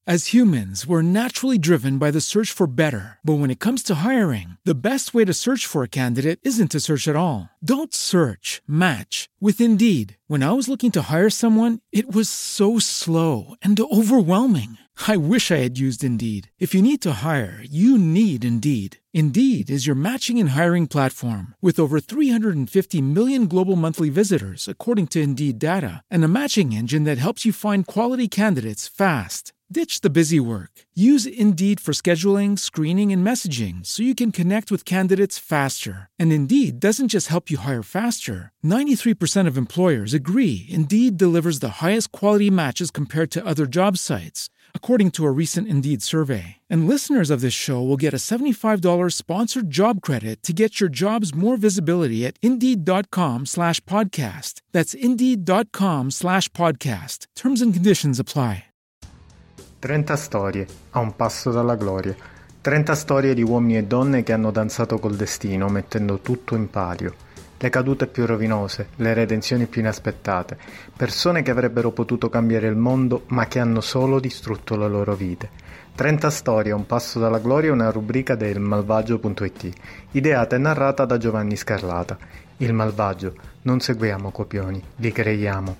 As humans, we're naturally driven by the search for better. But when it comes to hiring, the best way to search for a candidate isn't to search at all. Don't search, match with Indeed. When I was looking to hire someone, it was so slow and overwhelming. I wish I had used Indeed. If you need to hire, you need Indeed. Indeed is your matching and hiring platform with over 350 million global monthly visitors, according to Indeed data, and a matching engine that helps you find quality candidates fast. Ditch the busy work. Use Indeed for scheduling, screening, and messaging so you can connect with candidates faster. And Indeed doesn't just help you hire faster. 93% of employers agree Indeed delivers the highest quality matches compared to other job sites, according to a recent Indeed survey. And listeners of this show will get a $75 sponsored job credit to get your jobs more visibility at Indeed.com/podcast. That's Indeed.com/podcast. Terms and conditions apply. 30 storie, a un passo dalla gloria. 30 storie di uomini e donne che hanno danzato col destino, mettendo tutto in palio. Le cadute più rovinose, le redenzioni più inaspettate. Persone che avrebbero potuto cambiare il mondo, ma che hanno solo distrutto le loro vite. 30 storie, a un passo dalla gloria è una rubrica del Malvagio.it, ideata e narrata da Giovanni Scarlata. Il Malvagio. Non seguiamo copioni, li creiamo.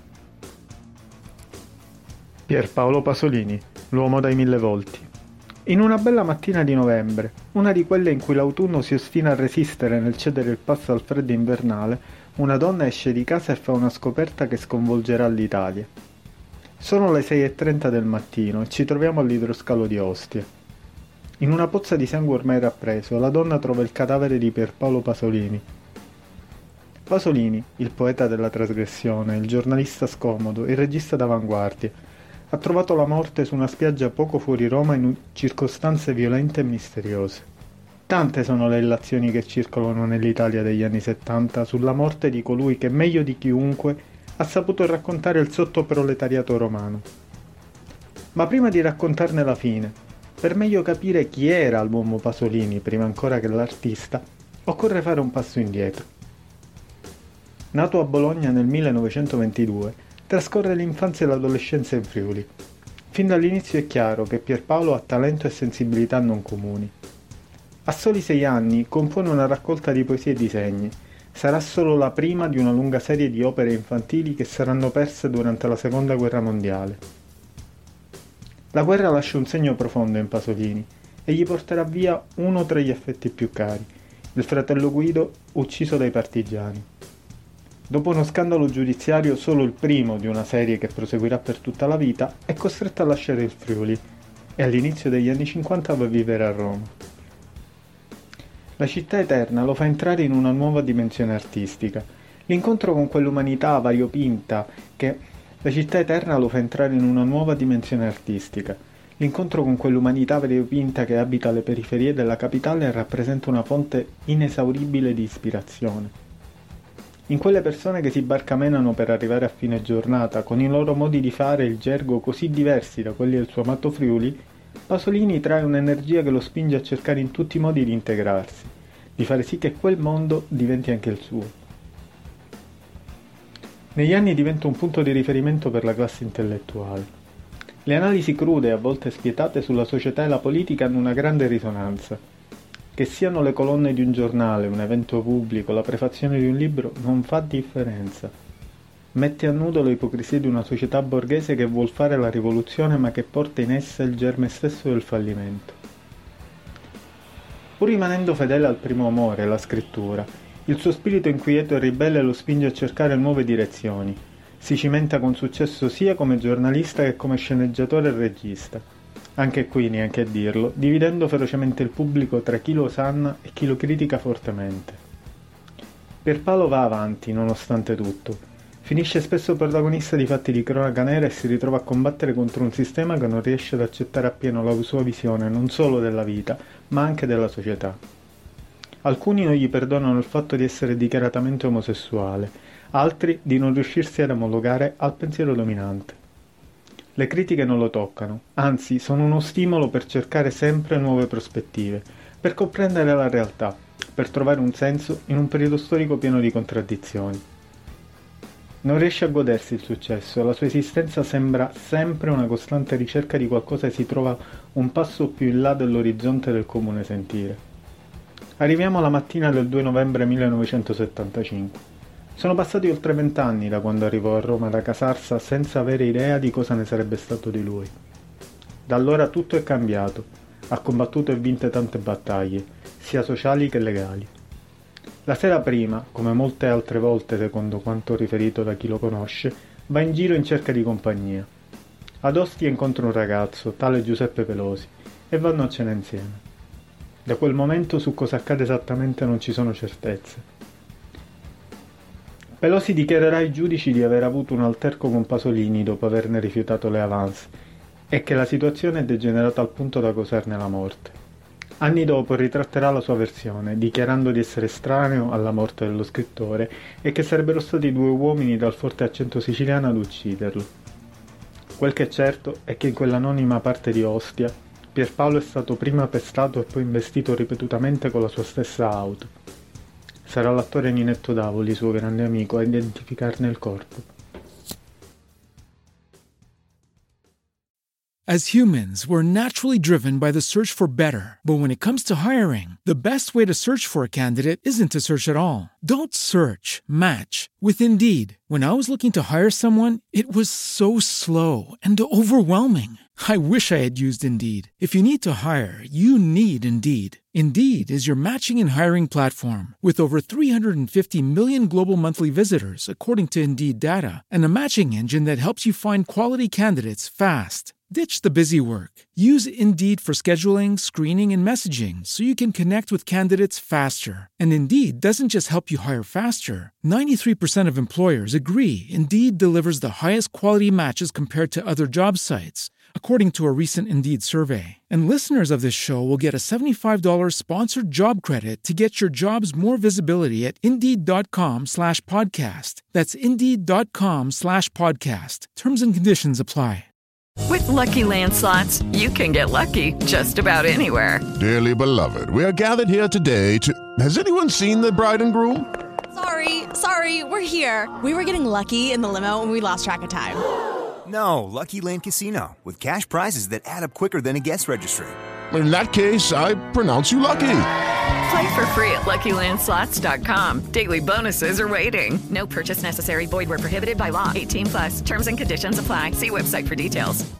Pierpaolo Pasolini, l'uomo dai 1000 volti. In una bella mattina di novembre, una di quelle in cui l'autunno si ostina a resistere nel cedere il passo al freddo invernale, una donna esce di casa e fa una scoperta che sconvolgerà l'Italia. Sono le 6:30 del mattino e ci troviamo all'idroscalo di Ostia. In una pozza di sangue ormai rappreso, la donna trova il cadavere di Pierpaolo Pasolini. Pasolini, il poeta della trasgressione, il giornalista scomodo, il regista d'avanguardia, ha trovato la morte su una spiaggia poco fuori Roma in circostanze violente e misteriose. Tante sono le illazioni che circolano nell'Italia degli anni '70 sulla morte di colui che meglio di chiunque ha saputo raccontare il sottoproletariato romano. Ma prima di raccontarne la fine, per meglio capire chi era l'uomo Pasolini prima ancora che l'artista, occorre fare un passo indietro. Nato a Bologna nel 1922, trascorre l'infanzia e l'adolescenza in Friuli. Fin dall'inizio è chiaro che Pierpaolo ha talento e sensibilità non comuni. A soli 6 anni compone una raccolta di poesie e disegni. Sarà solo la prima di una lunga serie di opere infantili che saranno perse durante la Seconda Guerra Mondiale. La guerra lascia un segno profondo in Pasolini e gli porterà via uno tra gli affetti più cari, il fratello Guido ucciso dai partigiani. Dopo uno scandalo giudiziario, solo il primo di una serie che proseguirà per tutta la vita, è costretto a lasciare il Friuli e all'inizio degli anni 50 va a vivere a Roma. La città eterna lo fa entrare in una nuova dimensione artistica. L'incontro con quell'umanità variopinta che... La città eterna lo fa entrare in una nuova dimensione artistica. L'incontro con quell'umanità variopinta che abita le periferie della capitale rappresenta una fonte inesauribile di ispirazione. In quelle persone che si barcamenano per arrivare a fine giornata, con i loro modi di fare e il gergo così diversi da quelli del suo amato Friuli, Pasolini trae un'energia che lo spinge a cercare in tutti i modi di integrarsi, di fare sì che quel mondo diventi anche il suo. Negli anni diventa un punto di riferimento per la classe intellettuale. Le analisi crude e a volte spietate sulla società e la politica hanno una grande risonanza. Che siano le colonne di un giornale, un evento pubblico, la prefazione di un libro, non fa differenza. Mette a nudo le ipocrisie di una società borghese che vuol fare la rivoluzione ma che porta in essa il germe stesso del fallimento. Pur rimanendo fedele al primo amore, la scrittura, il suo spirito inquieto e ribelle lo spinge a cercare nuove direzioni. Si cimenta con successo sia come giornalista che come sceneggiatore e regista. Anche qui, neanche a dirlo, dividendo ferocemente il pubblico tra chi lo osanna e chi lo critica fortemente. Pierpaolo va avanti, nonostante tutto. Finisce spesso protagonista di fatti di cronaca nera e si ritrova a combattere contro un sistema che non riesce ad accettare appieno la sua visione non solo della vita, ma anche della società. Alcuni non gli perdonano il fatto di essere dichiaratamente omosessuale, altri di non riuscirsi ad omologare al pensiero dominante. Le critiche non lo toccano, anzi sono uno stimolo per cercare sempre nuove prospettive, per comprendere la realtà, per trovare un senso in un periodo storico pieno di contraddizioni. Non riesce a godersi il successo, la sua esistenza sembra sempre una costante ricerca di qualcosa che si trova un passo più in là dell'orizzonte del comune sentire. Arriviamo alla mattina del 2 novembre 1975. Sono passati oltre 20 anni da quando arrivò a Roma da Casarsa senza avere idea di cosa ne sarebbe stato di lui. Da allora tutto è cambiato, ha combattuto e vinto tante battaglie, sia sociali che legali. La sera prima, come molte altre volte secondo quanto riferito da chi lo conosce, va in giro in cerca di compagnia. Ad Ostia incontra un ragazzo, tale Giuseppe Pelosi, e vanno a cena insieme. Da quel momento su cosa accade esattamente non ci sono certezze. Pelosi dichiarerà ai giudici di aver avuto un alterco con Pasolini dopo averne rifiutato le avance e che la situazione è degenerata al punto da causarne la morte. Anni dopo ritratterà la sua versione, dichiarando di essere estraneo alla morte dello scrittore e che sarebbero stati 2 uomini dal forte accento siciliano ad ucciderlo. Quel che è certo è che in quell'anonima parte di Ostia, Pierpaolo è stato prima pestato e poi investito ripetutamente con la sua stessa auto. Sarà l'attore Ninetto Davoli, suo grande amico, a identificarne il corpo. As humans, we're naturally driven by the search for better. But when it comes to hiring, the best way to search for a candidate isn't to search at all. Don't search, match with Indeed. When I was looking to hire someone, it was so slow and overwhelming. I wish I had used Indeed. If you need to hire, you need Indeed. Indeed is your matching and hiring platform with over 350 million global monthly visitors, according to Indeed data, and a matching engine that helps you find quality candidates fast. Ditch the busy work. Use Indeed for scheduling, screening, and messaging so you can connect with candidates faster. And Indeed doesn't just help you hire faster. 93% of employers agree Indeed delivers the highest quality matches compared to other job sites, according to a recent Indeed survey. And listeners of this show will get a $75 sponsored job credit to get your jobs more visibility at Indeed.com/podcast. That's Indeed.com/podcast. Terms and conditions apply. With Lucky Land Slots, you can get lucky just about anywhere. Dearly beloved, we are gathered here today to... Has anyone seen the bride and groom? Sorry, we're here. We were getting lucky in the limo and we lost track of time. No, Lucky Land Casino, with cash prizes that add up quicker than a guest registry. In that case, I pronounce you lucky. Play for free at LuckyLandSlots.com. Daily bonuses are waiting. No purchase necessary. Void where prohibited by law. 18+. Terms and conditions apply. See website for details.